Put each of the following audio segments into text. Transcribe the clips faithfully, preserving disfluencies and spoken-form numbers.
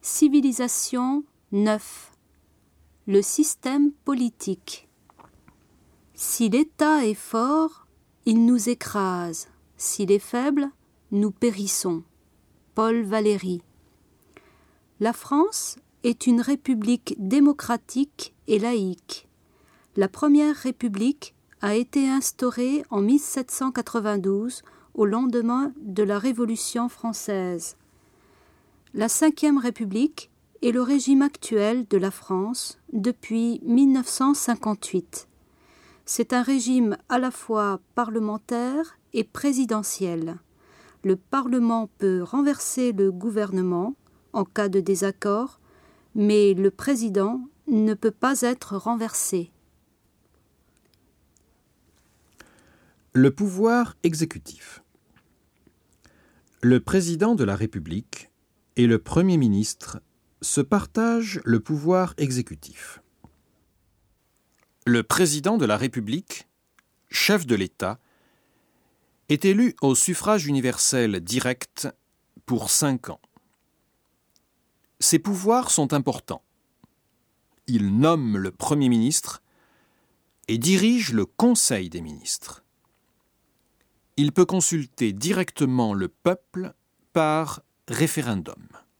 Civilisation neuf. Le système politique. Si l'État est fort, il nous écrase. S'il est faible, nous périssons. Paul Valéry. La France est une république démocratique et laïque. La première république a été instaurée en mille sept cent quatre-vingt-douze, au lendemain de la Révolution française. La Cinquième République est le régime actuel de la France depuis mille neuf cent cinquante-huit. C'est un régime à la fois parlementaire et présidentiel. Le Parlement peut renverser le gouvernement en cas de désaccord, mais le président ne peut pas être renversé. Le pouvoir exécutif. Le président de la République et le Premier ministre se partagent le pouvoir exécutif. Le président de la République, chef de l'État, est élu au suffrage universel direct pour cinq ans. Ses pouvoirs sont importants. Il nomme le Premier ministre et dirige le Conseil des ministres. Il peut consulter directement le peuple par référendum.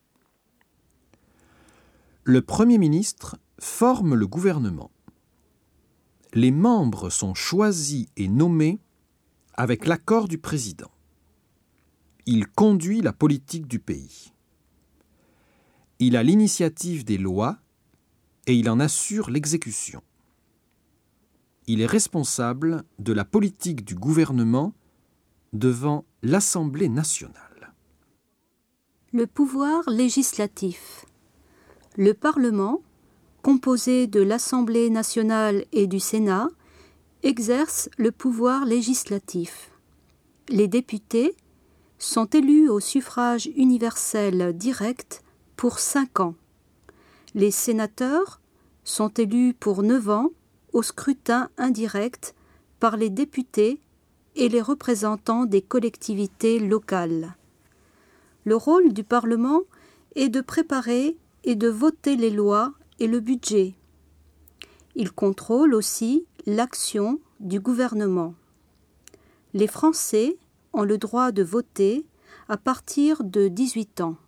Le Premier ministre forme le gouvernement. Les membres sont choisis et nommés avec l'accord du président. Il conduit la politique du pays. Il a l'initiative des lois et il en assure l'exécution. Il est responsable de la politique du gouvernement devant l'Assemblée nationale. Le pouvoir législatif. Le Parlement, composé de l'Assemblée nationale et du Sénat, exerce le pouvoir législatif. Les députés sont élus au suffrage universel direct pour cinq ans. Les sénateurs sont élus pour neuf ans au scrutin indirect par les députés et les représentants des collectivités locales. Le rôle du Parlement est de préparer et de voter les lois et le budget. Il contrôle aussi l'action du gouvernement. Les Français ont le droit de voter à partir de dix-huit ans.